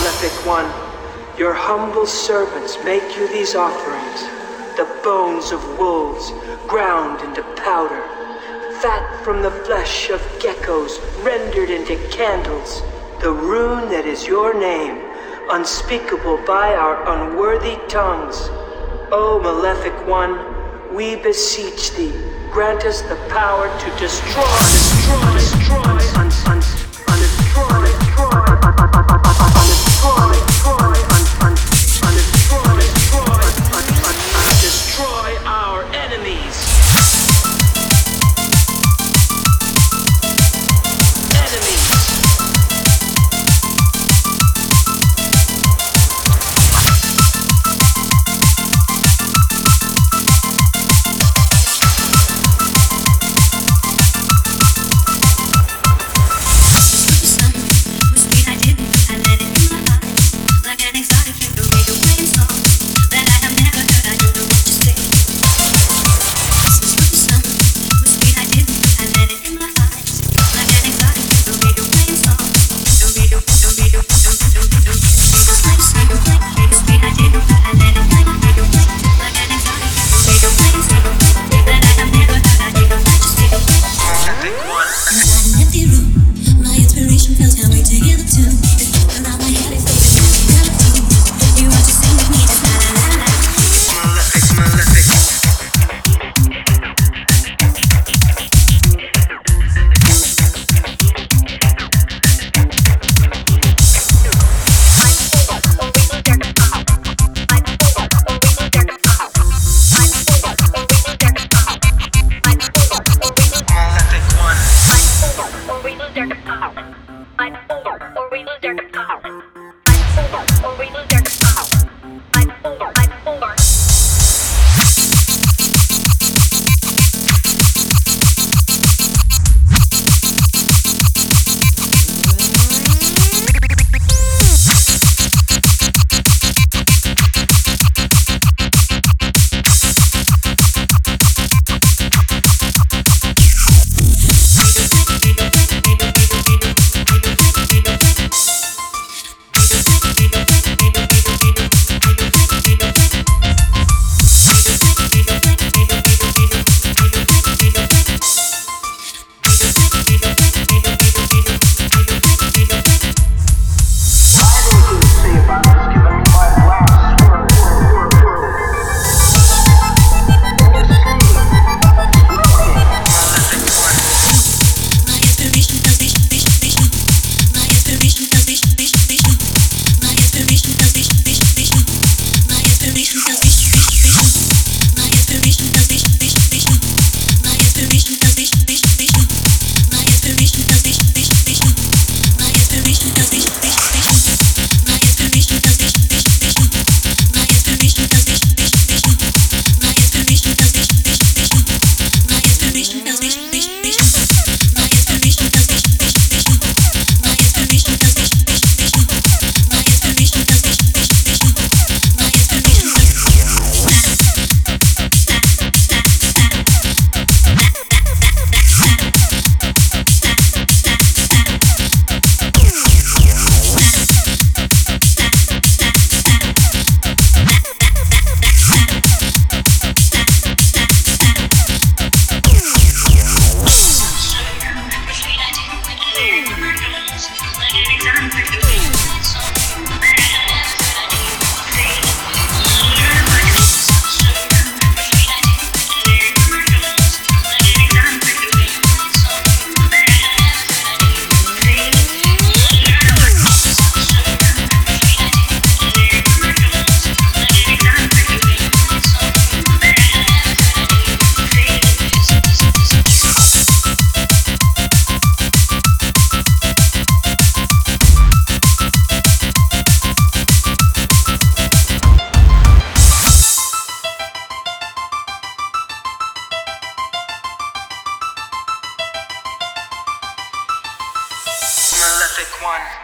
Malefic One, your humble servants make you these offerings. The bones of wolves ground into powder, fat from the flesh of geckos rendered into candles, the rune that is your name, unspeakable by our unworthy tongues. O Malefic One, we beseech thee, grant us the power to destroy our enemies. Malefic One.